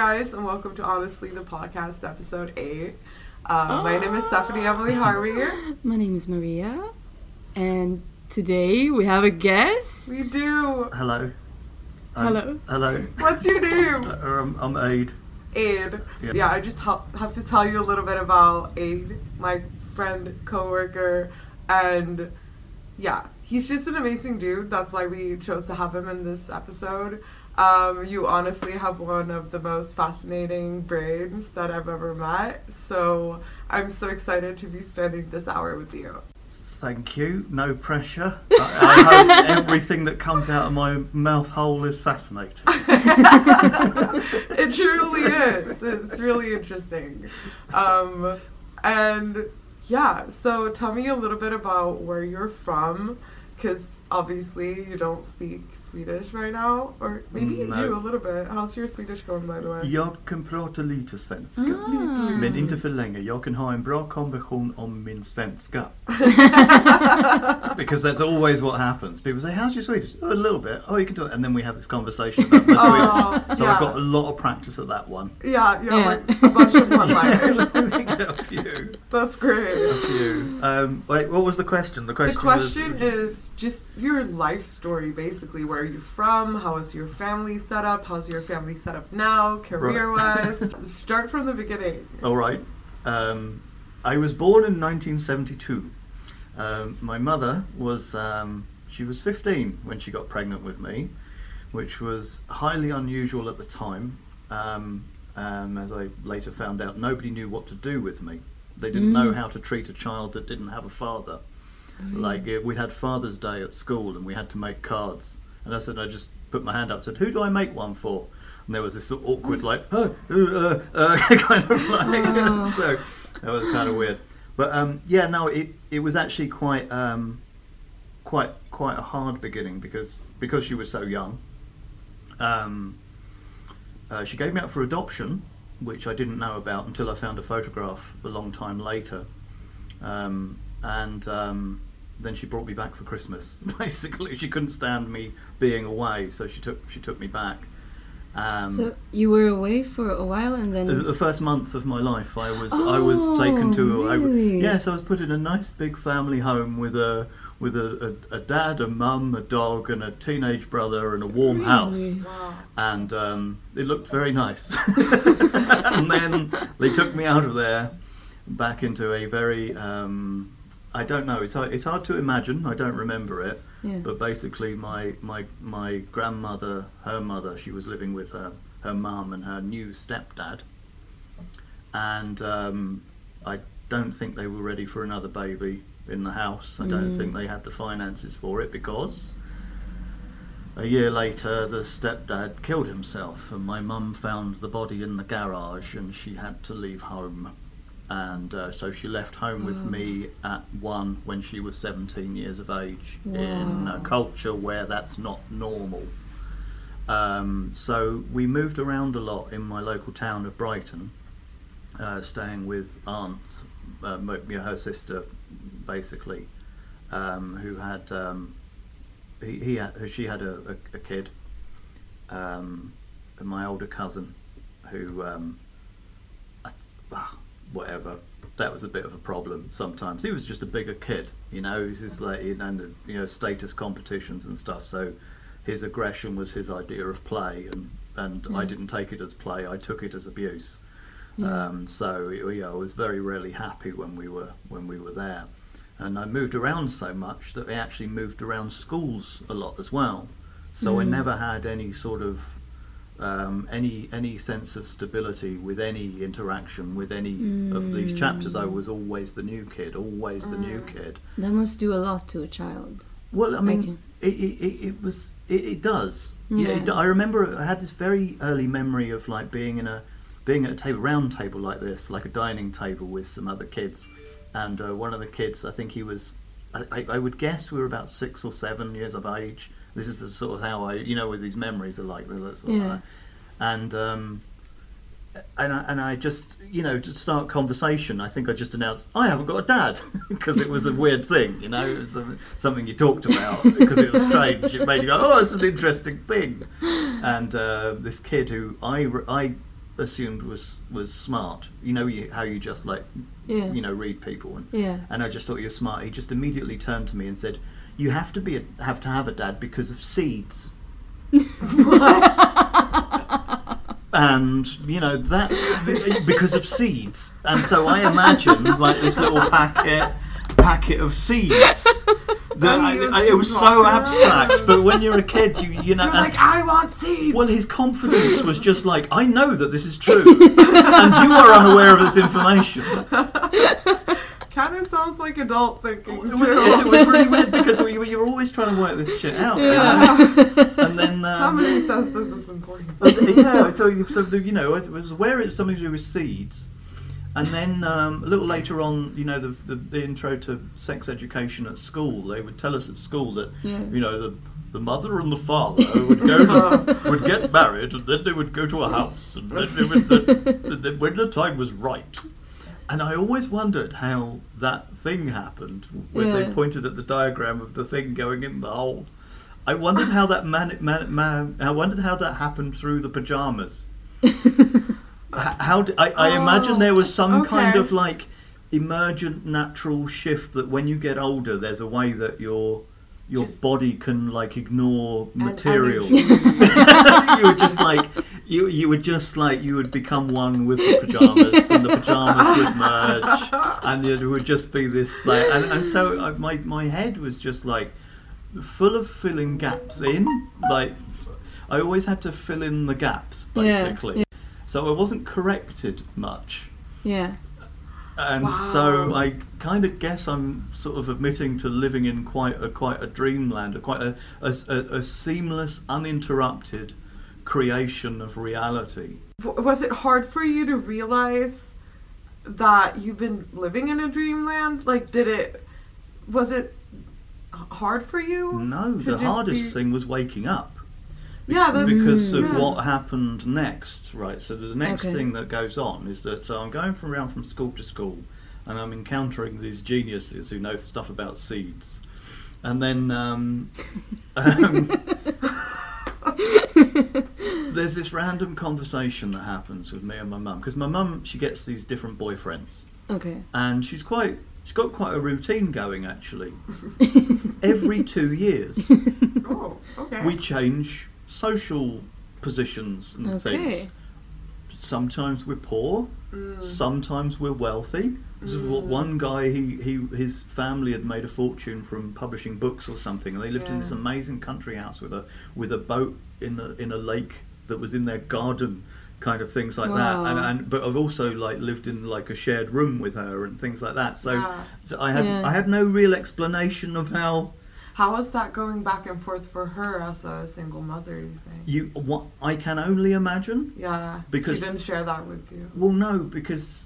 guys, and welcome to Honestly the Podcast, episode 8. My name is Stephanie Emily Harvey. My name is Maria, and today we have a guest. We do. Hello. Hello. What's your name? I'm Aid. Aid. Yeah. Yeah, I just have to tell you a little bit about Aid, my friend, co-worker, and yeah, he's just an amazing dude. That's why we chose to have him in this episode. You honestly have one of the most fascinating brains that I've ever met, so I'm so excited to be spending this hour with you. Thank you. No pressure. I hope everything that comes out of my mouth hole is fascinating. It truly is. It's really interesting. And yeah, so tell me a little bit about where you're from, because obviously you don't speak Swedish right now, or maybe you do a little bit. How's your Swedish going, by the way? Jag kan prata lite svenska, men inte för länge. Jag kan ha en bra konversation om min svenska. Because that's always what happens. People say, how's your Swedish? Oh, a little bit. Oh, you can do it. And then we have this conversation about my Swedish. So yeah. I've got a lot of practice at that one. Yeah, like a bunch of one-liners. A few. That's great. A few. Wait, what was the question? The question is just your life story, basically. Where are you from? How is your family set up? How's your family set up now, career-wise? Start from the beginning. All right. I was born in 1972. My mother was, she was 15 when she got pregnant with me, which was highly unusual at the time. As I later found out, nobody knew what to do with me. They didn't know how to treat a child that didn't have a father. Like, we had Father's Day at school and we had to make cards. And I just put my hand up and said, who do I make one for? And there was this sort of awkward, like, kind of like, so that was kind of weird. But it was actually quite a hard beginning because she was so young. She gave me up for adoption, which I didn't know about until I found a photograph a long time later. Then she brought me back for Christmas. Basically, she couldn't stand me being away, so she took me back. So you were away for a while, and then the first month of my life, I was taken to. Really? I was put in a nice big family home with a dad, a mum, a dog, and a teenage brother, and a warm house. Wow. And it looked very nice. And then they took me out of there back into a very I don't know. It's hard to imagine. I don't remember it. Yeah. But basically, my grandmother, her mother, she was living with her mum and her new stepdad, and I don't think they were ready for another baby in the house. I don't think they had the finances for it, because a year later the stepdad killed himself, and my mum found the body in the garage, and she had to leave home. And so she left home with me at 1 when she was 17 years of age. Wow. In a culture where that's not normal. So we moved around a lot in my local town of Brighton, staying with aunt, her sister, basically, who had she had a kid, and my older cousin, who whatever, that was a bit of a problem sometimes. He was just a bigger kid, he was just like, status competitions and stuff, so his aggression was his idea of play, and I didn't take it as play, I took it as abuse. So I was very rarely happy when we were there. And I moved around so much that I actually moved around schools a lot as well, so I never had any sort of any sense of stability with any interaction with any of these chapters. I was always the new kid, the new kid. That must do a lot to a child. Well, I mean, it does. Yeah. I remember I had this very early memory of like being at a round table like this, like a dining table with some other kids, and one of the kids, I think he was, I would guess we were about 6 or 7 years of age. This is the sort of how I, with these memories are like this. And I just, to start conversation, I think I just announced, I haven't got a dad, because it was a weird thing, it was something you talked about, because it was strange. It made you go, oh, it's an interesting thing. And this kid who I assumed was smart. How you just like Yeah. read people, Yeah. and I just thought you're smart. He just immediately turned to me and said, "You have to have a dad because of seeds." And that because of seeds, and so I imagined like this little packet of seeds. It was so abstract, but when you're a kid, you're like, I want seeds. Well, his confidence was just like, I know that this is true, and you are unaware of this information. Kind of sounds like adult thinking. It was really weird because you were always trying to work this shit out. And then somebody says this is important. So I was aware it was something to do with seeds. And then a little later on, the intro to sex education at school, they would tell us at school that, the mother and the father would get married, and then they would go to a house, and then when the time was right. And I always wondered how that thing happened when they pointed at the diagram of the thing going in the hole. I wondered how that I wondered how that happened through the pajamas. I imagine there was some kind of like emergent natural shift that when you get older, there's a way that your body can like ignore material. You would become one with the pajamas, and the pajamas would merge, and it would just be this like, and so my head was just like full of filling gaps in. Like I always had to fill in the gaps basically. So I wasn't corrected much. Yeah. And so I kind of guess I'm sort of admitting to living in quite a dreamland, quite a seamless, uninterrupted creation of reality. Was it hard for you to realize that you've been living in a dreamland? Like, was it hard for you? No, the hardest thing was waking up. Yeah, because of what happened next, right? So the next thing that goes on is that I'm going around from school to school, and I'm encountering these geniuses who know stuff about seeds, and then there's this random conversation that happens with me and my mum, because my mum, she gets these different boyfriends, and she's got quite a routine going actually. Every 2 years, we change social positions and things. Sometimes we're poor, sometimes we're wealthy. This is what one guy, his family had made a fortune from publishing books or something, and they lived in this amazing country house with a boat in a lake that was in their garden, kind of things like that. But I've also like lived in like a shared room with her and things like that. So I had no real explanation of how. How was that going back and forth for her as a single mother, do you think? I can only imagine. Yeah, because she didn't share that with you. Well, no, because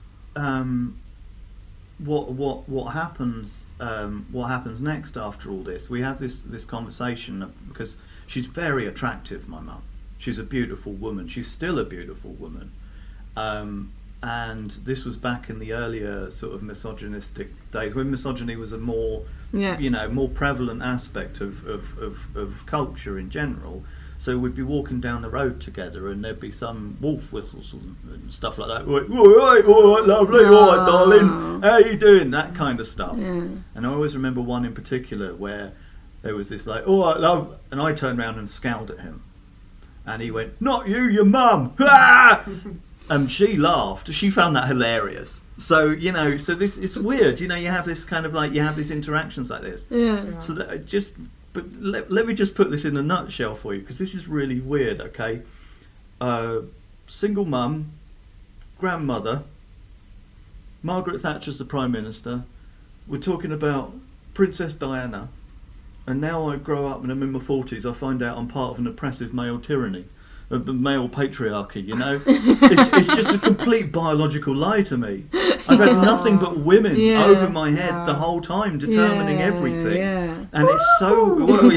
what happens next after all this? We have this conversation because she's very attractive, my mum. She's a beautiful woman. She's still a beautiful woman. And this was back in the earlier sort of misogynistic days when misogyny was a more more prevalent aspect of culture in general. So we'd be walking down the road together and there'd be some wolf whistles and stuff like that. All right, lovely, all right, darling, how you doing? That kind of stuff. And I always remember one in particular where there was this like, all right, love, and I turned around and scowled at him. And he went, not you, your mum. And she laughed. She found that hilarious. So, so this, it's weird. You have this kind of like, you have these interactions like this. Yeah. So that but let me just put this in a nutshell for you, because this is really weird, okay? Single mum, grandmother, Margaret Thatcher's the Prime Minister. We're talking about Princess Diana. And now I grow up and I'm in my 40s, I find out I'm part of an oppressive male tyranny. The male patriarchy, it's just a complete biological lie to me. I've had nothing but women over my head the whole time determining everything, and it's so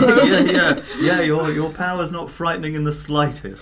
your power's not frightening in the slightest.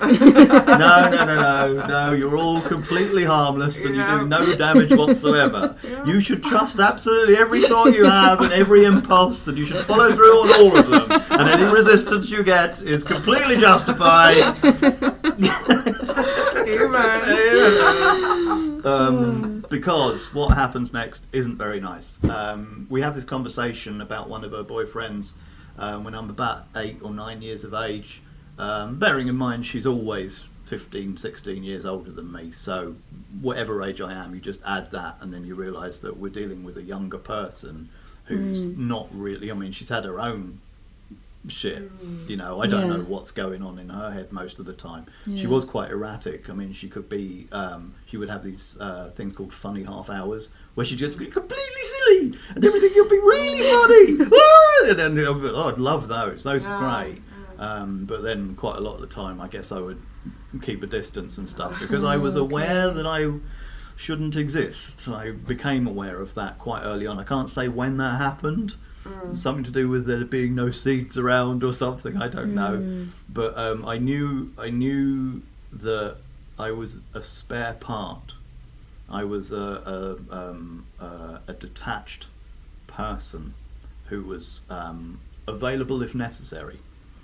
No, you're all completely harmless and you do no damage whatsoever. You should trust absolutely every thought you have and every impulse, and you should follow through on all of them, and any resistance you get is completely justified. Amen. Because what happens next isn't very nice. We have this conversation about one of her boyfriends when I'm about 8 or 9 years of age. Bearing in mind she's always 15, 16 years older than me, so whatever age I am, you just add that and then you realise that we're dealing with a younger person who's not really, I mean, she's had her own shit, you know, I don't know what's going on in her head most of the time. She was quite erratic. I mean, she could be, she would have these things called funny half hours where she'd just be completely silly and everything would be really funny. And then, oh, I'd love those are great. But then quite a lot of the time I guess I would keep a distance and stuff because I was aware that I shouldn't exist. I became aware of that quite early on. I can't say when that happened. Something to do with there being no seeds around or something, I don't know. But I knew that I was a spare part. I was a detached person who was available if necessary.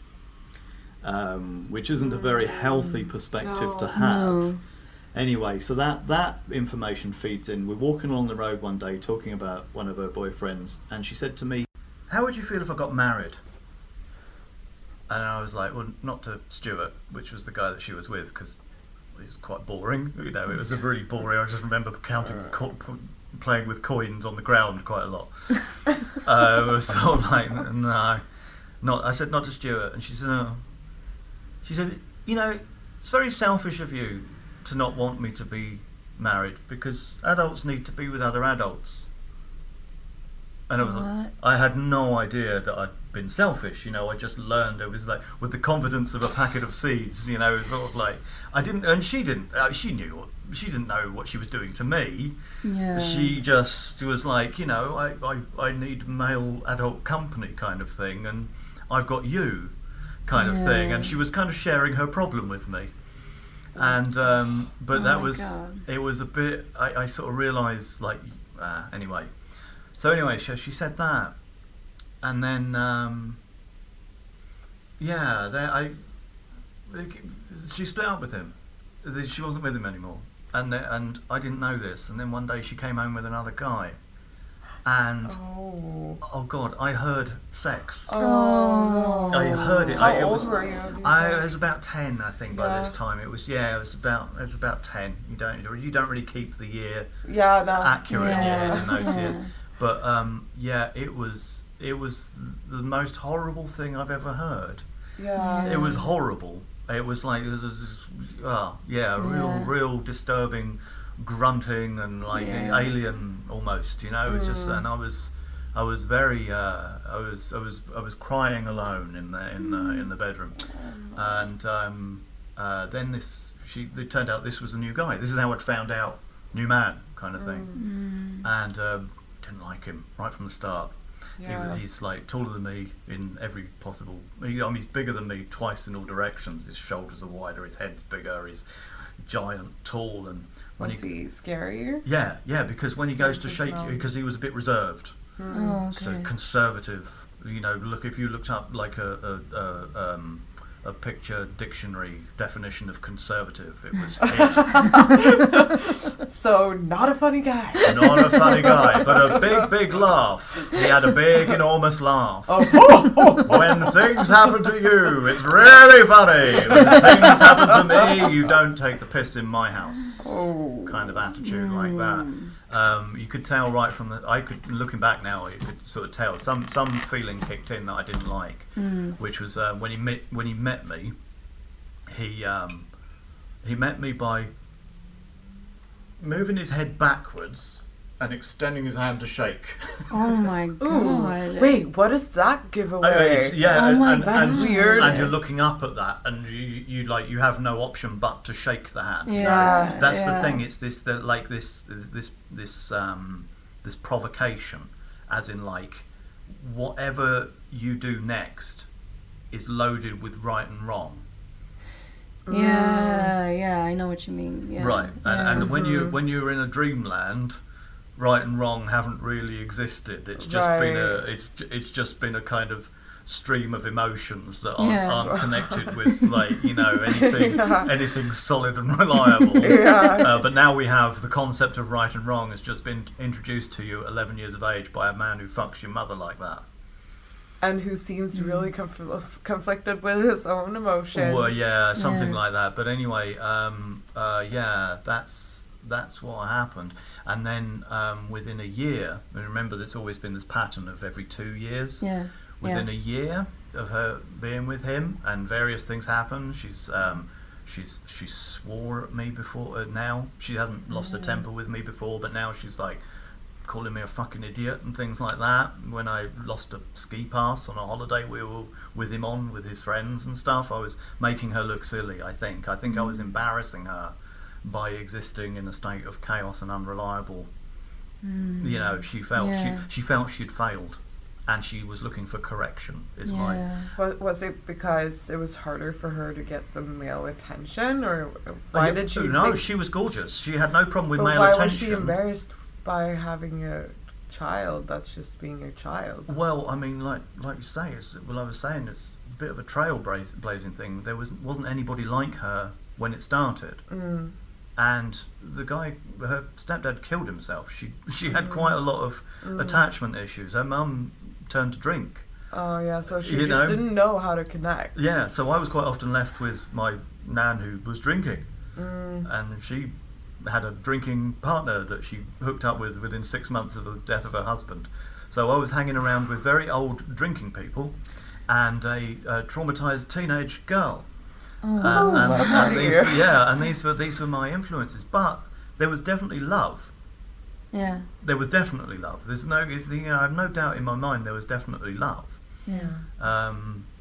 Which isn't a very healthy perspective to have. No. Anyway, so that information feeds in. We're walking along the road one day talking about one of her boyfriends, and she said to me, "How would you feel if I got married?" And I was like, well, not to Stuart, which was the guy that she was with, because it was quite boring. You know, it was a really boring. I just remember playing with coins on the ground quite a lot. It was sort of like, no, not. I said not to Stuart, and she said, no. She said, you know, it's very selfish of you to not want me to be married because adults need to be with other adults. And I had no idea that I'd been selfish, you know, I just learned. It was like with the confidence of a packet of seeds, you know, sort of like, I didn't, and she didn't, she didn't know what she was doing to me. Yeah. She just was like, you know, I need male adult company kind of thing, and I've got you kind of thing. And she was kind of sharing her problem with me. And, but that was, it was a bit, I sort of realised, like, anyway. So anyway, she said that, and then she split up with him. She wasn't with him anymore, and I didn't know this. And then one day she came home with another guy, and oh God, I heard sex. Oh, I heard it. How old were you? I was about 10, I think, by this time. It was about 10. You don't really keep the year accurate in those years. But it was the most horrible thing I've ever heard. Yeah. It was horrible. It was like real disturbing grunting and like alien almost, you know. Just and I was very I was crying alone in the bedroom, and then it turned out this was a new guy. This is how I'd found out, new man kind of thing, and didn't like him right from the start. Yeah. He's like taller than me in every possible. He's bigger than me twice in all directions. His shoulders are wider, his head's bigger, he's giant, tall, and when was he scary? Yeah, because when he goes to shake you, because he was a bit reserved, so conservative. You know, if you looked up like a picture dictionary definition of conservative, it was it. So not a funny guy. Not a funny guy, but a big laugh. He had a big, enormous laugh. When things happen to you, it's really funny. When things happen to me, you don't take the piss in my house. Kind of attitude like that. You could tell right from looking back now, you could sort of tell some feeling kicked in that I didn't like, which was when he met me. He met me by moving his head backwards and extending his hand to shake. Oh my God! Ooh, wait, what does that give away? That's weird. And you're looking up at that, and you have no option but to shake the hand. Yeah, that's the thing. It's this provocation, as in like whatever you do next is loaded with right and wrong. Yeah, I know what you mean. Yeah. Right, and when you're in a dreamland, right and wrong haven't really existed. It's just been a kind of stream of emotions that Yeah. aren't connected with like anything Yeah. anything solid and reliable. Yeah. But now we have the concept of right and wrong has just been introduced to you at 11 years of age by a man who fucks your mother like that. And who seems really conflicted with his own emotions. Well, yeah, something Yeah. like that. But anyway, that's what happened. And then within a year, and remember, there's always been this pattern of every 2 years. Yeah. Within Yeah. a year of her being with him, and various things happen. She swore at me before. Now she hasn't lost her temper with me before, but now she's like calling me a fucking idiot and things like that. When I lost a ski pass on a holiday we were with him on with his friends and stuff, I was making her look silly. I think I was embarrassing her by existing in a state of chaos and unreliable. She felt Yeah. she felt she'd failed, and she was looking for correction. Is my Yeah. Was it because it was harder for her to get the male attention, or why did she? No, think, she was gorgeous. She had no problem with but male why attention. was she embarrassed by having a child? That's just being a child. Well, I mean, like you say, I was saying, it's a bit of a trailblazing thing. There wasn't anybody like her when it started, and the guy, her stepdad, killed himself. She had quite a lot of attachment issues. Her mum turned to drink. Oh yeah, so she You just know? didn't know how to connect. Yeah, so I was quite often left with my nan who was drinking, and she had a drinking partner that she hooked up with within 6 months of the death of her husband. So I was hanging around with very old drinking people and a traumatized teenage girl. And these were my influences. But there was definitely love. Yeah. There was definitely love. I have no doubt in my mind there was definitely love. Yeah.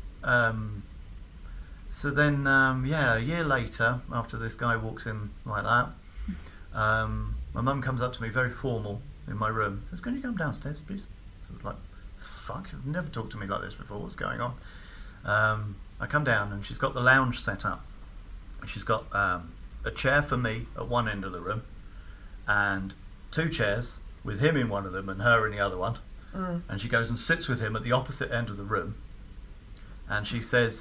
So then, a year later, after this guy walks in like that, my mum comes up to me, very formal, in my room. Says, "Can you come downstairs, please?" So I was like, "Fuck, you've never talked to me like this before. What's going on?" I come down and she's got the lounge set up. She's got a chair for me at one end of the room, and 2 chairs with him in one of them and her in the other one. And she goes and sits with him at the opposite end of the room, and she says,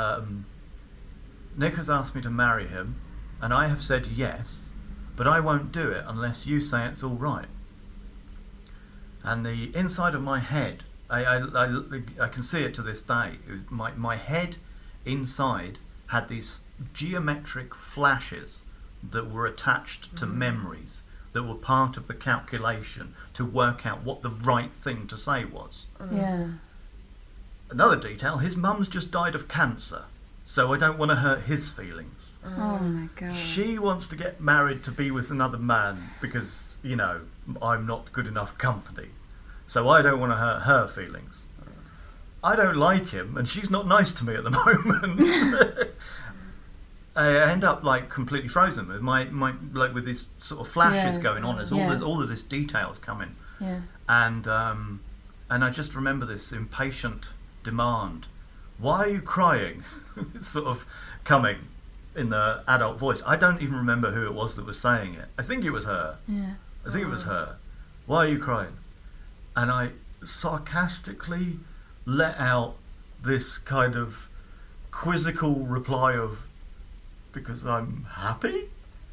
"Nick has asked me to marry him, and I have said yes, but I won't do it unless you say it's all right." And the inside of my head, I can see it to this day. It was my head inside had these geometric flashes that were attached to memories that were part of the calculation to work out what the right thing to say was. Yeah. Another detail, his mum's just died of cancer, so I don't want to hurt his feelings. Oh my god. She wants to get married to be with another man because, I'm not good enough company. So I don't want to hurt her feelings. I don't like him, and she's not nice to me at the moment. I end up like completely frozen with my like with these sort of flashes Yeah. going on as all of this details coming. Yeah. And I just remember this impatient demand. "Why are you crying?" It's sort of coming in the adult voice. I don't even remember who it was that was saying it. I think it was her. Yeah. I think it was her. "Why are you crying?" And I sarcastically let out this kind of quizzical reply of, "Because I'm happy."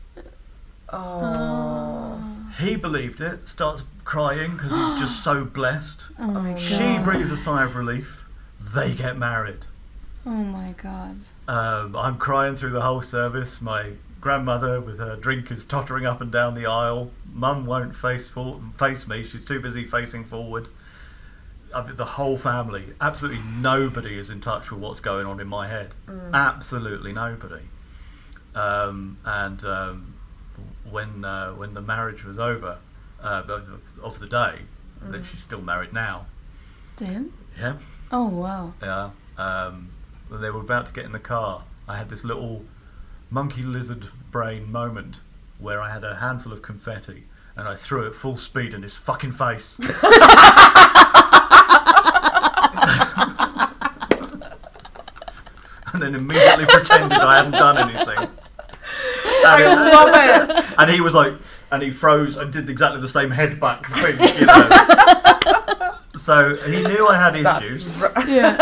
Oh. He believed it, starts crying because he's just so blessed. Oh my god. She breathes a sigh of relief. They get married. Oh my god. I'm crying through the whole service. My grandmother with her drink is tottering up and down the aisle. Mum won't face me. She's too busy facing forward. The whole family, absolutely nobody is in touch with what's going on in my head. Absolutely nobody. When the marriage was over, of the day, that she's still married now. To him? Yeah. Oh wow. Yeah. When they were about to get in the car, I had this little monkey lizard brain moment where I had a handful of confetti and I threw it full speed in his fucking face. And then immediately pretended I hadn't done anything. I love it. And he was like, and he froze and did exactly the same head back thing, So he knew I had That's issues. Yeah.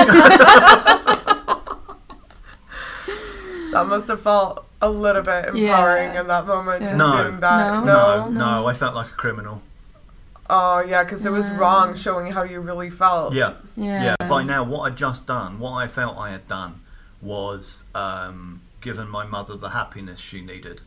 That must have felt a little bit empowering in that moment, just Yeah. doing that. No, I felt like a criminal. Oh, yeah, because it was wrong showing how you really felt. Yeah. Yeah. By now, what I'd just done, what I felt I had done, was given my mother the happiness she needed.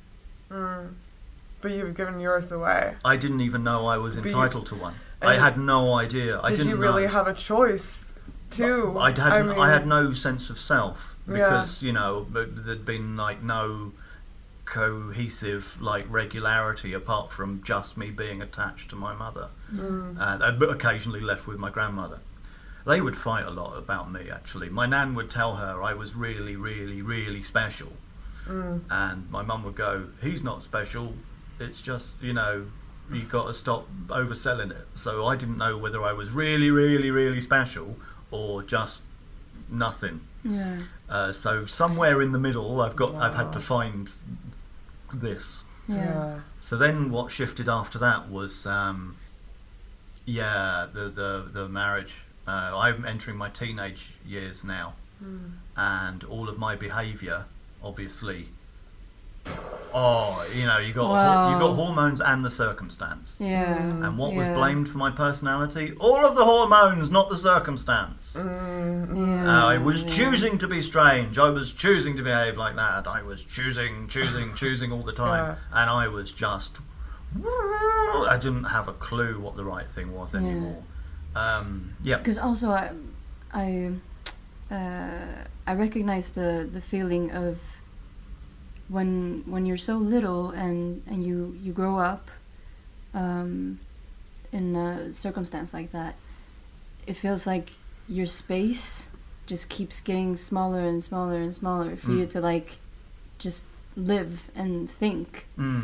But you've given yours away. I didn't even know I was entitled to one. and I had no idea. I Did didn't you really know. have a choice, too? I mean, had no sense of self because you know there'd been like no cohesive like regularity apart from just me being attached to my mother, and occasionally left with my grandmother. They would fight a lot about me. Actually, my nan would tell her I was really, really, really special, and my mum would go, "He's not special. It's just you got to stop overselling it." So I didn't know whether I was really, really, really special or just nothing. Yeah. So somewhere in the middle, I've had to find this. Yeah. So then, what shifted after that was, the marriage. I'm entering my teenage years now, and all of my behaviour, obviously. You got hormones and the circumstance. Yeah. And what was blamed for my personality? All of the hormones, not the circumstance. I was choosing to be strange. I was choosing to behave like that. I was choosing all the time. And I was just... I didn't have a clue what the right thing was anymore. Because also I recognize the feeling of when you're so little and you grow up in a circumstance like that, it feels like your space just keeps getting smaller and smaller and smaller for you to like just live and think.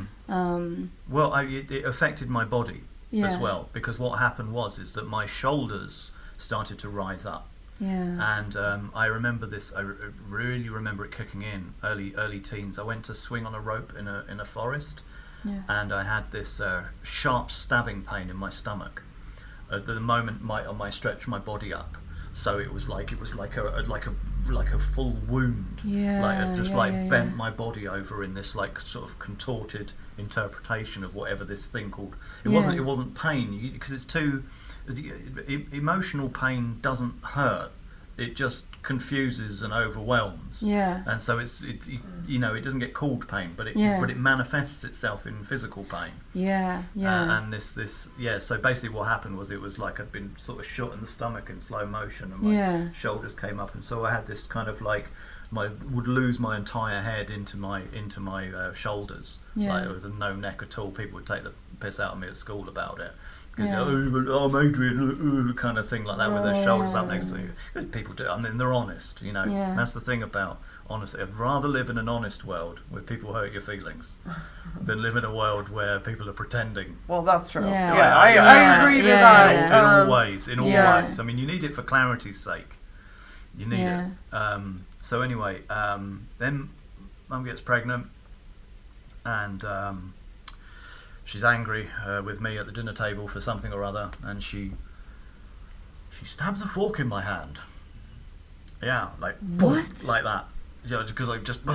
Well, it affected my body as well, because what happened is that my shoulders started to rise up. Yeah. And I remember this. I really remember it kicking in early teens. I went to swing on a rope in a forest, and I had this sharp stabbing pain in my stomach. At the moment, I stretched my body up, so it was like a full wound. Bent my body over in this like sort of contorted interpretation of whatever this thing called. It wasn't pain because it's too. Emotional pain doesn't hurt; it just confuses and overwhelms. Yeah. And so it doesn't get called pain, but it manifests itself in physical pain. Yeah. And so basically what happened was it was like I'd been sort of shot in the stomach in slow motion, and my shoulders came up, and so I had this kind of like would lose my entire head into my shoulders. Like there was no neck at all. People would take the piss out of me at school about it. I'm Adrian, kind of thing like that, with their shoulders up next to you. Because people do. I mean, they're honest, That's the thing about honesty. I'd rather live in an honest world where people hurt your feelings than live in a world where people are pretending. Well, that's true. I agree with that. In all ways. I mean, you need it for clarity's sake. You need it. So anyway, then Mum gets pregnant, and she's angry with me at the dinner table for something or other, and she stabs a fork in my hand. Yeah, like boom, like that. Because I just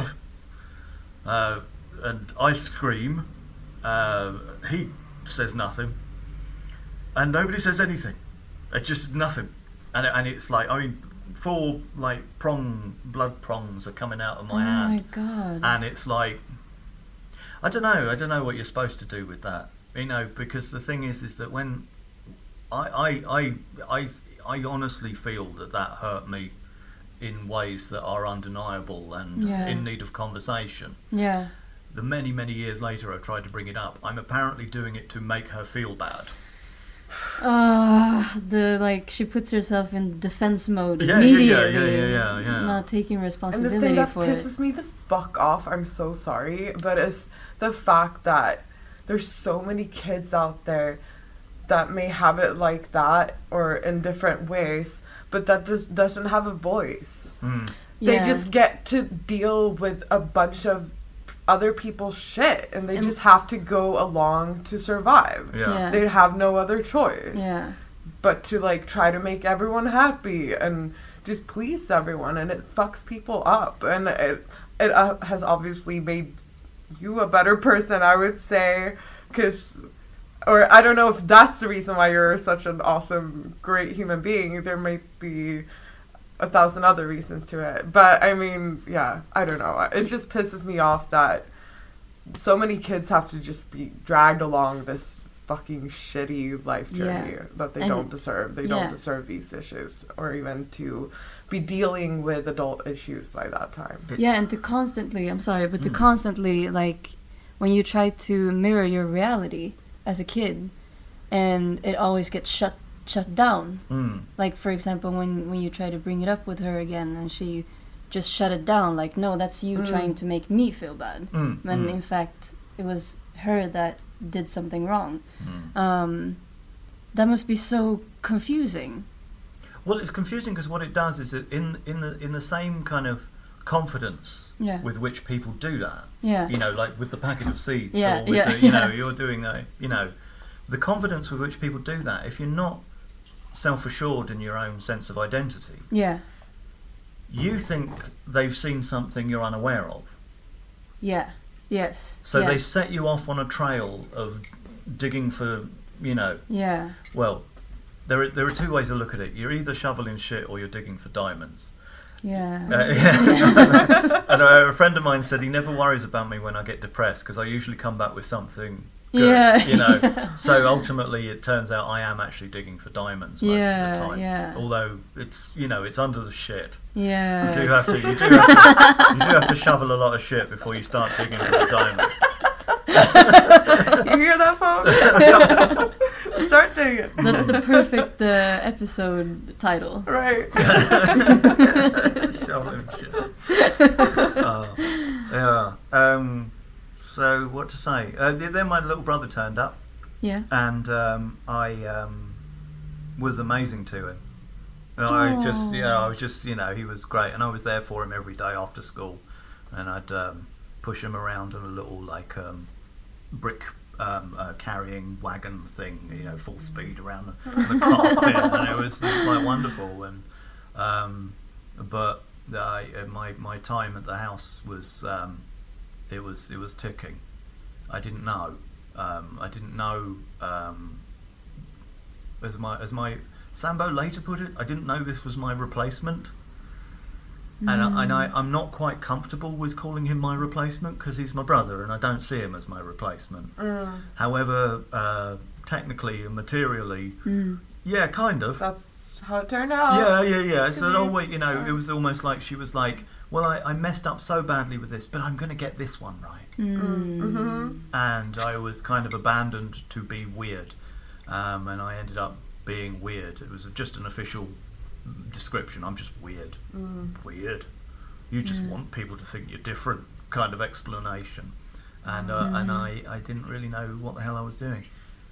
and I scream. He says nothing, and nobody says anything. It's just nothing, and it's like 4 like blood prongs are coming out of my hand. Oh my god! And it's like. I don't know what you're supposed to do with that, because the thing is that when I honestly feel that hurt me in ways that are undeniable and in need of conversation. Yeah. The many years later, I've tried to bring it up. I'm apparently doing it to make her feel bad. She puts herself in defense mode Yeah, immediately. Yeah. Not taking And the responsibility thing that for it. pisses me the fuck off, I'm so sorry, but it's the fact that there's so many kids out there that may have it like that or in different ways, but that just doesn't have a voice. They just get to deal with a bunch of other people's shit, and they just have to go along to survive. They have no other choice. but to like try to make everyone happy and just please everyone, and it fucks people up, and it has obviously made you a better person, I would say, or I don't know if that's the reason why you're such an awesome, great human being. There might be 1,000 other reasons to it, but I mean, yeah, I don't know. It just pisses me off that so many kids have to just be dragged along this fucking shitty life journey that they don't deserve. They don't deserve these issues, or even to be dealing with adult issues by that time. Yeah, and to constantly, I'm sorry, but to constantly, like, when you try to mirror your reality as a kid, and it always gets shut down. Like, for example, when you try to bring it up with her again, and she just shut it down, like, no, that's you trying to make me feel bad. When in fact, it was her that did something wrong. That must be so confusing. Well, it's confusing because what it does is that in the same kind of confidence with which people do that, you know, like with the packet of seeds, or with the, you know, you're doing the confidence with which people do that. If you're not self-assured in your own sense of identity, you think they've seen something you're unaware of. So they set you off on a trail of digging for, you know. Well, there are two ways to look at it. You're either shoveling shit or you're digging for diamonds. And a friend of mine said he never worries about me when I get depressed because I usually come back with something good, you know. So ultimately it turns out I am actually digging for diamonds most of the time. Although it's, you know, it's under the shit. You do have to shovel a lot of shit before you start digging for the diamonds. You hear that, folks? Start digging. That's the perfect episode title. Right. Shoveling shit. So what to say? Then my little brother turned up. And I was amazing to him. I was just, you know, he was great, and I was there for him every day after school, and I'd push him around in a little like brick carrying wagon thing, you know, full speed around the carpet, and it was like wonderful. And but my time at the house was it was ticking. I didn't know. As my Sambo later put it, I didn't know this was my replacement. And I'm not quite comfortable with calling him my replacement because he's my brother and I don't see him as my replacement. However, technically and materially, yeah, kind of. That's how it turned out. Yeah. So, wait, you know, it was almost like she was like, well, I messed up so badly with this, but I'm going to get this one right. And I was kind of abandoned to be weird. And I ended up being weird. It was just an official description. I'm just weird. Weird. You just want people to think you're different kind of explanation. And I didn't really know what the hell I was doing.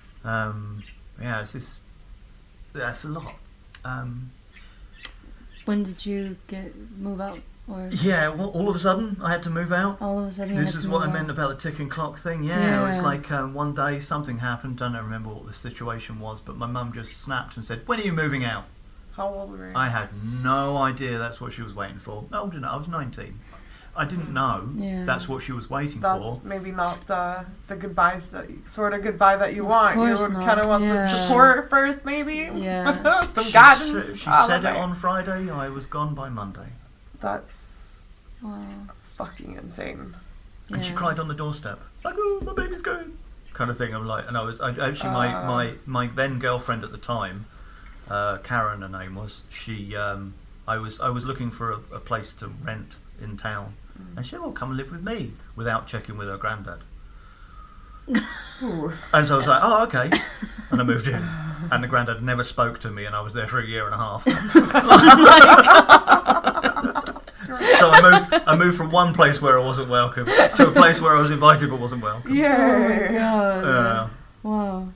That's a lot. When did you move out? Or yeah, well, all of a sudden I had to move out. All of a sudden this is what I meant about the ticking clock thing. Yeah. It was like one day something happened. Don't remember what the situation was, but my mum just snapped and said, "When are you moving out?" How old were you? I had no idea that's what she was waiting for. Old enough, I was 19. I didn't know that's what she was waiting for. That's maybe not the goodbyes goodbye that you want. You Course not. kind of want some support first, maybe. Yeah. Some guidance. She said it on Friday. I was gone by Monday. That's fucking insane. And she cried on the doorstep, like, "Oh, my baby's going," kind of thing. I'm like, and I actually my then girlfriend at the time, Karen, her name was. She I was looking for a place to rent in town, and she said, "Well, come and live with me," without checking with her granddad. And so I was like, "Oh, okay," and I moved in, and the granddad never spoke to me, and I was there for a year and a half. So I moved from one place where I wasn't welcome to a place where I was invited but wasn't welcome. Yeah. Oh my god. Wow.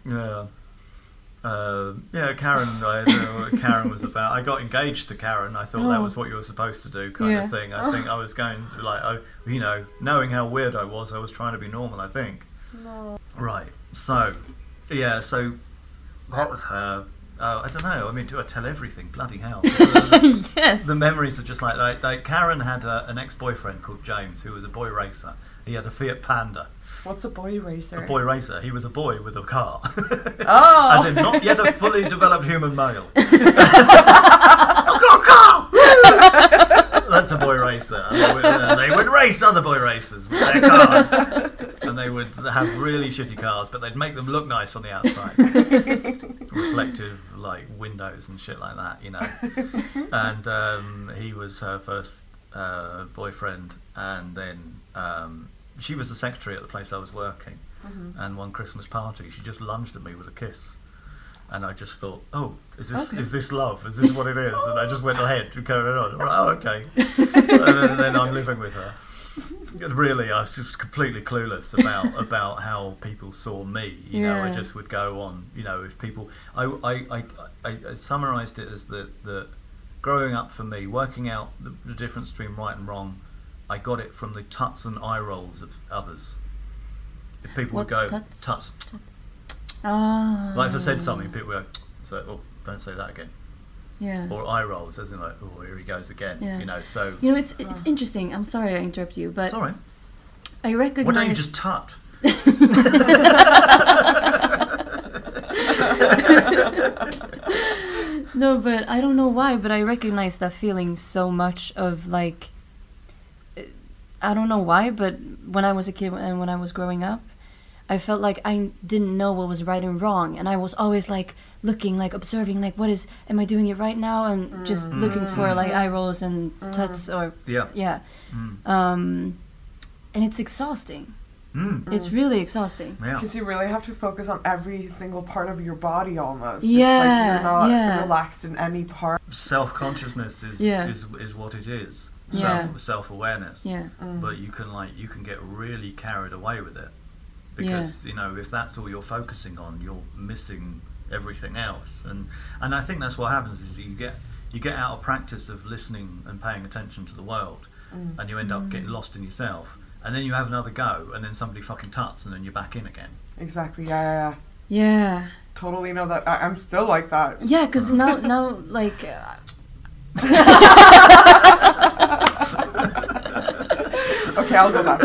Yeah. Karen was about. I got engaged to Karen. I thought that was what you were supposed to do, kind of thing. I think I was going to, like, you know, knowing how weird I was trying to be normal. I think. No. Right. So, yeah. So that was her. I don't know. I mean, do I tell everything? Bloody hell! Yes. The memories are just like Karen had an ex-boyfriend called James who was a boy racer. He had a Fiat Panda. What's a boy racer? A boy racer. He was a boy with a car. Oh. As in, not yet a fully developed human male. I've got a car! That's a boy racer. And they would race other boy racers with their cars. And they would have really shitty cars, but they'd make them look nice on the outside. Reflective, like, windows and shit like that, you know. And he was her first boyfriend, and then she was the secretary at the place I was working. And one Christmas party, she just lunged at me with a kiss. And I just thought, oh, is this love? Is this what it is? And I just went ahead to carry on. Oh, okay. And then I'm living with her. And really, I was just completely clueless about how people saw me. You know, I just would go on. You know, if people, I summarised it as that growing up for me, working out the difference between right and wrong, I got it from the tuts and eye rolls of others. If people would go tuts. Ah. Like if I said something, people would go, so, oh, don't say that again. Yeah. Or eye rolls, as in like, oh, here he goes again. Yeah. You know, so. You know, it's interesting. I'm sorry I interrupt you, but Sorry. I recognize. Why don't you just tut? No, but I don't know why, but I recognize that feeling so much of like. I don't know why, but when I was a kid and when I was growing up, I felt like I didn't know what was right and wrong, and I was always like looking, like observing, like am I doing it right now, and just looking for like eye rolls and tuts or and it's exhausting. It's really exhausting. Yeah. Because you really have to focus on every single part of your body almost. Yeah, it's like you're not relaxed in any part. Self-consciousness is what it is. Self-awareness. Yeah. But you can get really carried away with it. Because you know, if that's all you're focusing on, you're missing everything else, and I think that's what happens is you get out of practice of listening and paying attention to the world, and you end up getting lost in yourself, and then you have another go, and then somebody fucking tuts, and then you're back in again. Exactly. Yeah. Yeah. Totally know that. I'm still like that. Yeah, because now like. Okay, I'll go back.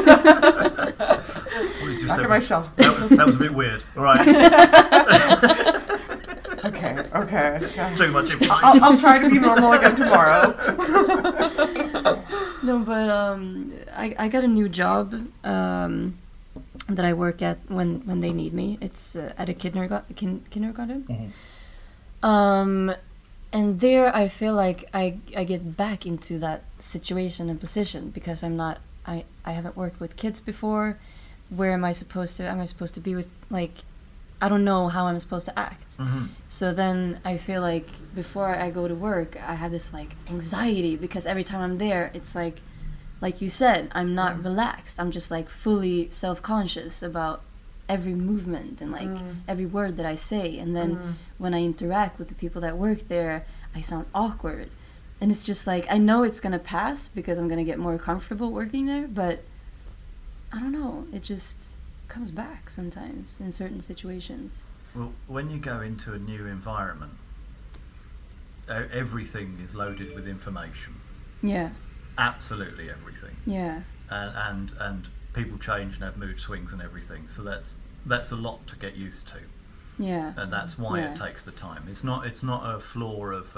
Back in my shell. That was a bit weird. All right. Okay. Yeah. Too much information. I'll try to be normal again tomorrow. No, but I got a new job that I work at when they need me. It's at a kindergarten. And there I feel like I get back into that situation and position because I haven't worked with kids before. Where am I supposed to be with, like, I don't know how I'm supposed to act. So then I feel like before I go to work, I have this like anxiety because every time I'm there, it's like you said, I'm not relaxed. I'm just like fully self-conscious about every movement and like every word that I say. And then when I interact with the people that work there, I sound awkward. And it's just like, I know it's gonna pass because I'm gonna get more comfortable working there, but I don't know, it just comes back sometimes in certain situations. Well, when you go into a new environment, everything is loaded with information. Yeah. Absolutely everything. Yeah. And people change and have mood swings and everything. So that's a lot to get used to. Yeah. And that's why it takes the time. It's not a flaw of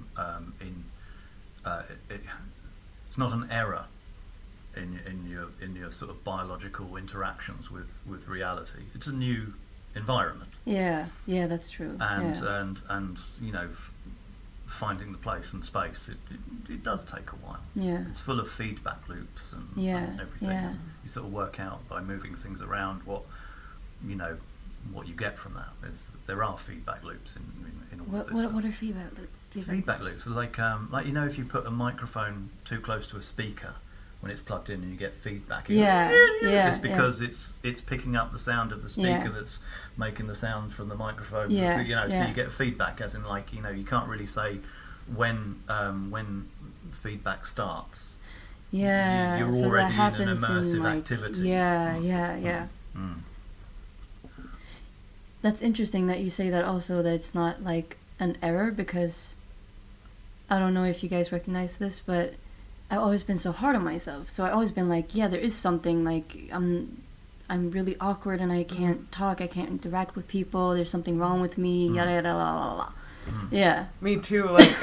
it's not an error in your sort of biological interactions with reality. It's a new environment. Yeah, that's true. And you know, finding the place and space, it does take a while. Yeah. It's full of feedback loops and everything. Yeah. You sort of work out by moving things around what you get from that. There are feedback loops in all of this. What are feedback loops? Feedback loops are like you know, if you put a microphone too close to a speaker when it's plugged in and you get feedback. It's because it's picking up the sound of the speaker that's making the sound from the microphone. So, you know, so you get feedback, as in like, you know, you can't really say when feedback starts. Yeah, you're so already that happens in an immersive like, activity. Yeah. That's interesting that you say that also, that it's not like an error, because I don't know if you guys recognize this, but I've always been so hard on myself. So I've always been like, yeah, there is something, like I'm really awkward and I can't talk, I can't interact with people, there's something wrong with me, yada yada la la la. Yeah. Me too, like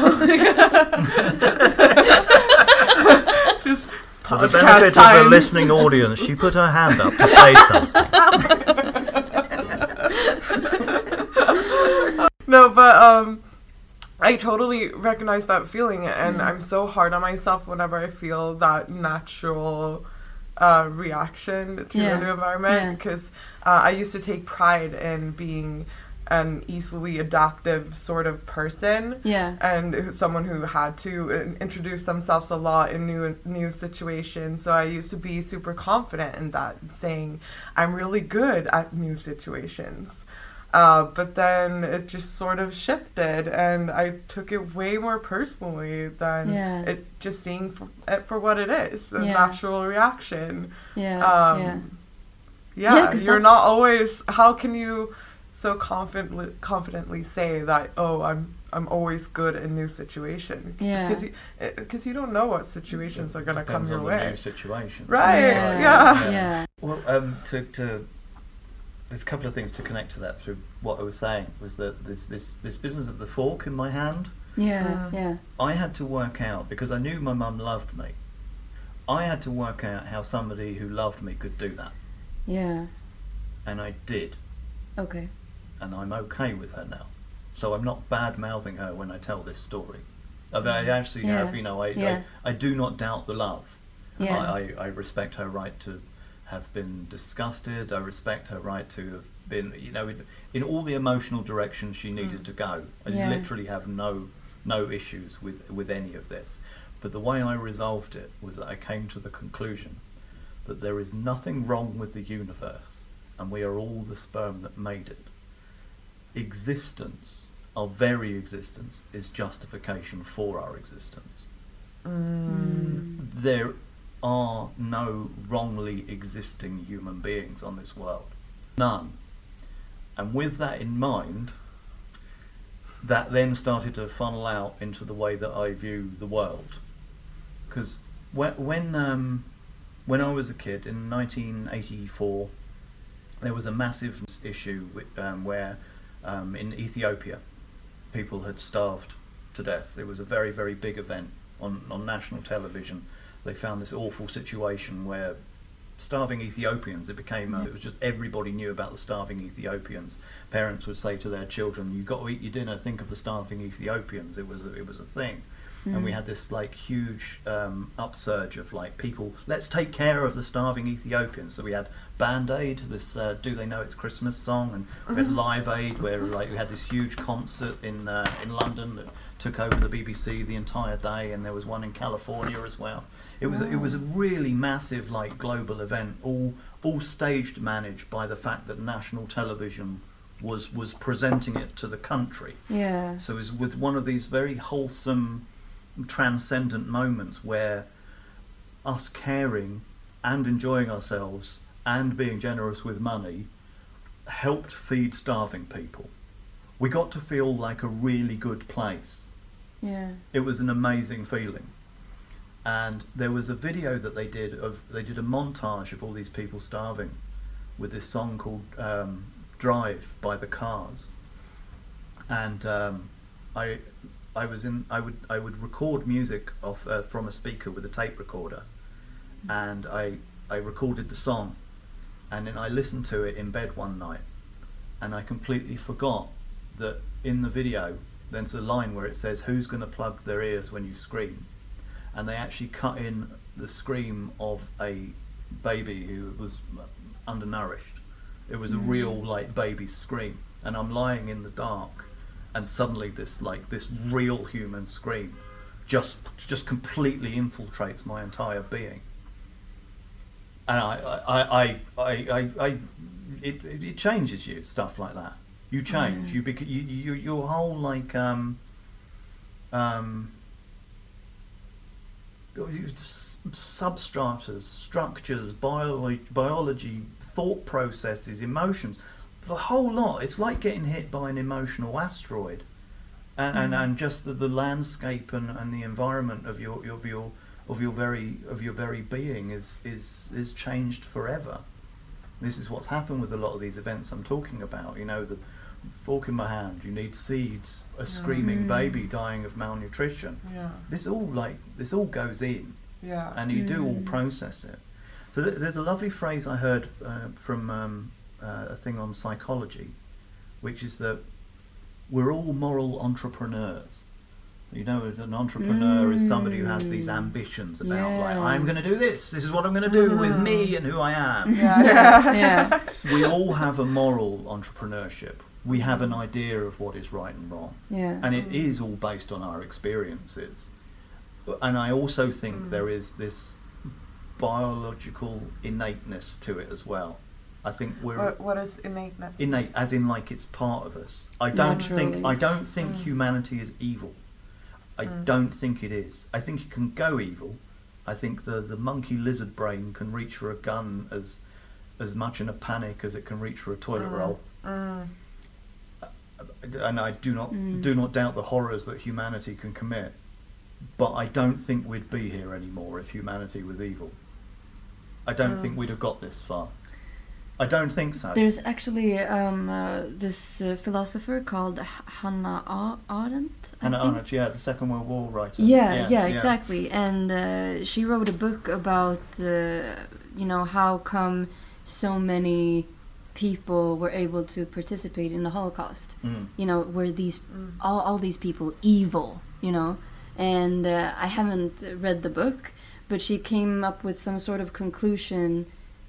just For the benefit of the listening audience, she put her hand up to say something. No, but I totally recognize that feeling, and I'm so hard on myself whenever I feel that natural reaction to a new environment, because I used to take pride in being an easily adaptive sort of person, and someone who had to introduce themselves a lot in new situations. So I used to be super confident in that, saying I'm really good at new situations. But then it just sort of shifted, and I took it way more personally than it just seeing it for what it is, a natural reaction. You're not always. How can you so confidently say that? Oh, I'm always good in new situations. Because you don't know what situations are going to come your way. New situation. Right. Well, there's a couple of things to connect to that through what I was saying, was that this business of the fork in my hand. I had to work out, because I knew my mum loved me, I had to work out how somebody who loved me could do that. And I did. Okay. And I'm okay with her now. So I'm not bad-mouthing her when I tell this story. I mean, I actually have, I do not doubt the love. I respect her right to have been disgusted. I respect her right to have been, in all the emotional directions she needed to go. I literally have no issues with any of this. But the way I resolved it was that I came to the conclusion that there is nothing wrong with the universe, and we are all the sperm that made it. Existence, our very existence, is justification for our existence. There are no wrongly existing human beings on this world. None. And with that in mind, that then started to funnel out into the way that I view the world. Because when I was a kid in 1984, there was a massive issue where in Ethiopia people had starved to death. It was a very, very big event on national television. They found this awful situation where starving Ethiopians, it was just everybody knew about the starving Ethiopians. Parents would say to their children, "You've got to eat your dinner, think of the starving Ethiopians." It was a thing. And we had this like huge upsurge of like people, let's take care of the starving Ethiopians. So we had Band Aid, this Do They Know It's Christmas song, and we had Live Aid, where like we had this huge concert in London that took over the BBC the entire day, and there was one in California as well. It was a really massive like global event, all staged, managed by the fact that national television was presenting it to the country. So it was one of these very wholesome, transcendent moments where us caring and enjoying ourselves and being generous with money helped feed starving people. We got to feel like a really good place. It was an amazing feeling. And there was a video that they did a montage of all these people starving with this song called Drive by the Cars. And I would record music from a speaker with a tape recorder, and I recorded the song, and then I listened to it in bed one night, and I completely forgot that in the video there's a line where it says, "Who's going to plug their ears when you scream?" And they actually cut in the scream of a baby who was undernourished. It was a real like baby scream, and I'm lying in the dark, and suddenly this real human scream just completely infiltrates my entire being. And it changes you, stuff like that. You change. Your whole like substratas, structures, biology, thought processes, emotions, the whole lot. It's like getting hit by an emotional asteroid, and just the landscape and the environment of your very being is changed forever. This is what's happened with a lot of these events I'm talking about. You know, the fork in my hand, you need seeds, a screaming baby dying of malnutrition. Yeah. This all goes in, Yeah. and you do all process it. So there's a lovely phrase I heard from a thing on psychology, which is that we're all moral entrepreneurs. You know, an entrepreneur is somebody who has these ambitions about, like, I'm going to do this. This is what I'm going to do with me and who I am. Yeah. We all have a moral entrepreneurship. We have an idea of what is right and wrong. Yeah. And it is all based on our experiences. And I also think there is this biological innateness to it as well. I think we're What is innateness? innate, as in like it's part of us. I don't think humanity is evil. I don't think it is. I think it can go evil. I think the monkey lizard brain can reach for a gun as much in a panic as it can reach for a toilet roll. And I do not doubt the horrors that humanity can commit. But I don't think we'd be here anymore if humanity was evil. I don't think we'd have got this far. I don't think so. There's actually this philosopher called Hannah Arendt. Hannah Arendt, yeah, the Second World War writer. Yeah, exactly. And she wrote a book about, how come so many people were able to participate in the Holocaust. You know, were these all these people evil? You know, and I haven't read the book, but she came up with some sort of conclusion.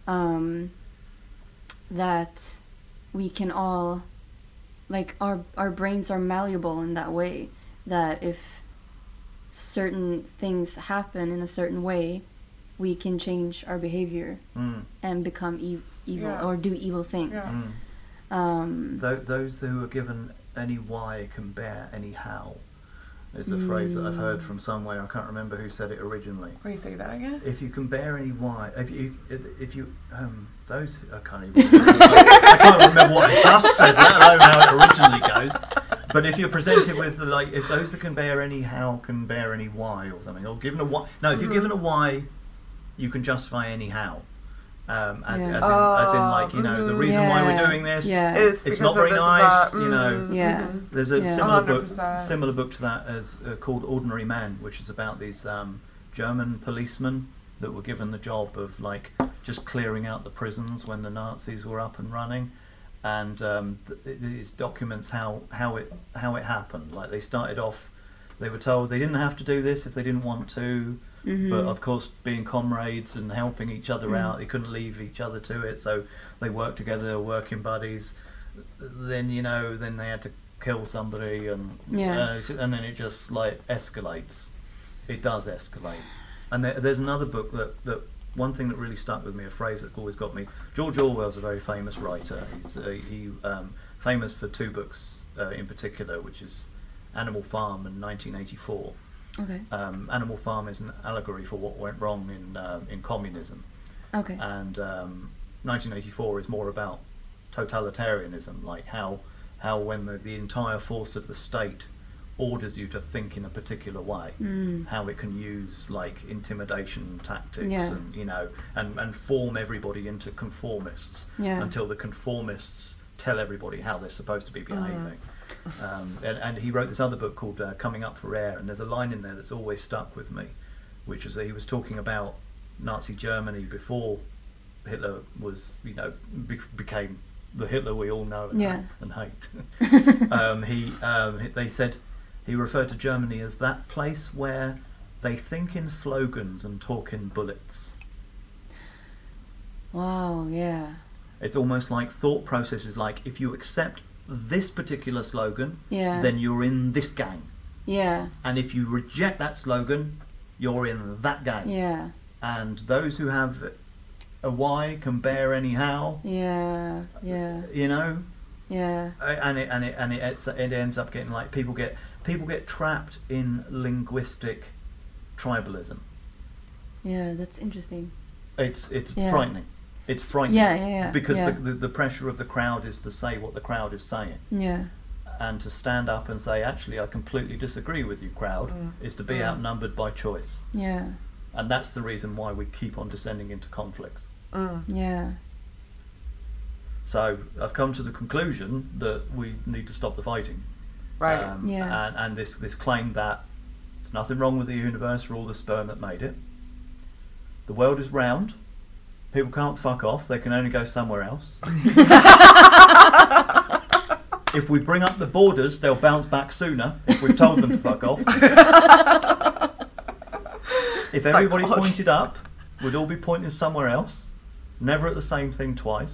That we can all, like, our brains are malleable in that way, that if certain things happen in a certain way, we can change our behavior and become evil or do evil things. Those who are given any why can bear any how is the phrase that I've heard from somewhere. I can't remember who said it originally. Will you say that again? If you can bear any why, if you those I can't even I can't remember what I just said, let alone how it originally goes. But if you're presented with if those that can bear any how can bear any why or something, or given a why. No, if you're given a why, you can justify any how. As in the reason why we're doing this, it's not very nice, There's a similar book to that as called Ordinary Men, which is about these German policemen that were given the job of just clearing out the prisons when the Nazis were up and running, and it documents how it happened. Like, they started off, they were told they didn't have to do this if they didn't want to. But of course, being comrades and helping each other out, they couldn't leave each other to it, so they worked together, they were working buddies. Then then they had to kill somebody, and then it just escalates. It does escalate. And there's another book that one thing that really stuck with me, a phrase that always got me. George Orwell's a very famous writer. He's famous for two books in particular, which is Animal Farm and 1984. Okay. Animal Farm is an allegory for what went wrong in communism. Okay. And 1984 is more about totalitarianism, like how when the entire force of the state orders you to think in a particular way, how it can use intimidation tactics and form everybody into conformists until the conformists tell everybody how they're supposed to be behaving. And he wrote this other book called Coming Up for Air, and there's a line in there that's always stuck with me, which is that he was talking about Nazi Germany before Hitler was, became the Hitler we all know and hate. They said he referred to Germany as that place where they think in slogans and talk in bullets. Wow, yeah. It's almost like thought processes, like if you accept this particular slogan, then you're in this gang. Yeah. And if you reject that slogan, you're in that gang. Yeah. And those who have a why can bear any how. Yeah. Yeah. Yeah. And it ends up getting people get trapped in linguistic tribalism. Yeah, that's interesting. It's frightening. It's frightening. Yeah. Because yeah. the pressure of the crowd is to say what the crowd is saying. Yeah. And to stand up and say, actually, I completely disagree with you, crowd, is to be outnumbered by choice. Yeah. And that's the reason why we keep on descending into conflicts. Yeah. So I've come to the conclusion that we need to stop the fighting. Right. And this claim that there's nothing wrong with the universe, we're all the sperm that made it. The world is round. People can't fuck off. They can only go somewhere else. If we bring up the borders, they'll bounce back sooner if we've told them to fuck off. If everybody pointed up, we'd all be pointing somewhere else. Never at the same thing twice.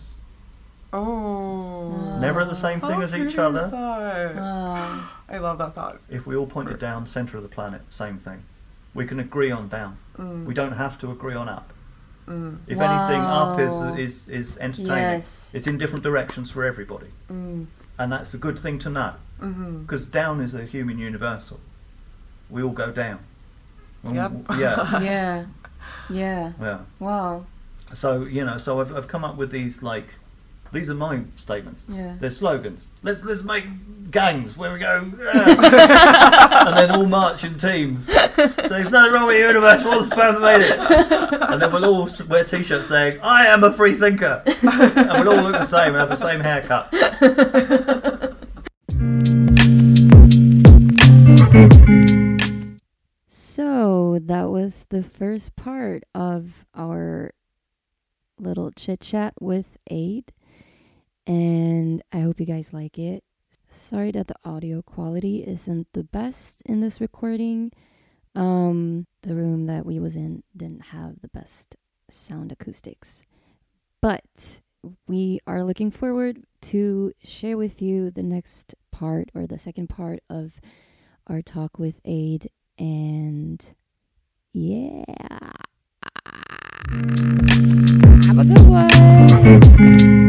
Oh. Never at the same thing as each other. I love that thought. If we all pointed down, centre of the planet, same thing. We can agree on down. We don't have to agree on up. If anything, up is entertaining. Yes. It's in different directions for everybody. And that's a good thing to know. Because down is a human universal. We all go down. Yep. Yeah. Yeah. Wow. So, so I've come up with these, these are my statements. Yeah. They're slogans. Let's make gangs where we go, and then all march in teams. So there's nothing wrong with the universe, we're all the sperm that made it. And then we'll all wear t-shirts saying, I am a free thinker. And we'll all look the same and have the same haircut. So that was the first part of our little chit chat with Aid, and I hope you guys like it. Sorry that the audio quality isn't the best in this recording. The room that we was in didn't have the best sound acoustics, but we are looking forward to share with you the next part, or the second part of our talk with Aid. And yeah, have a good one.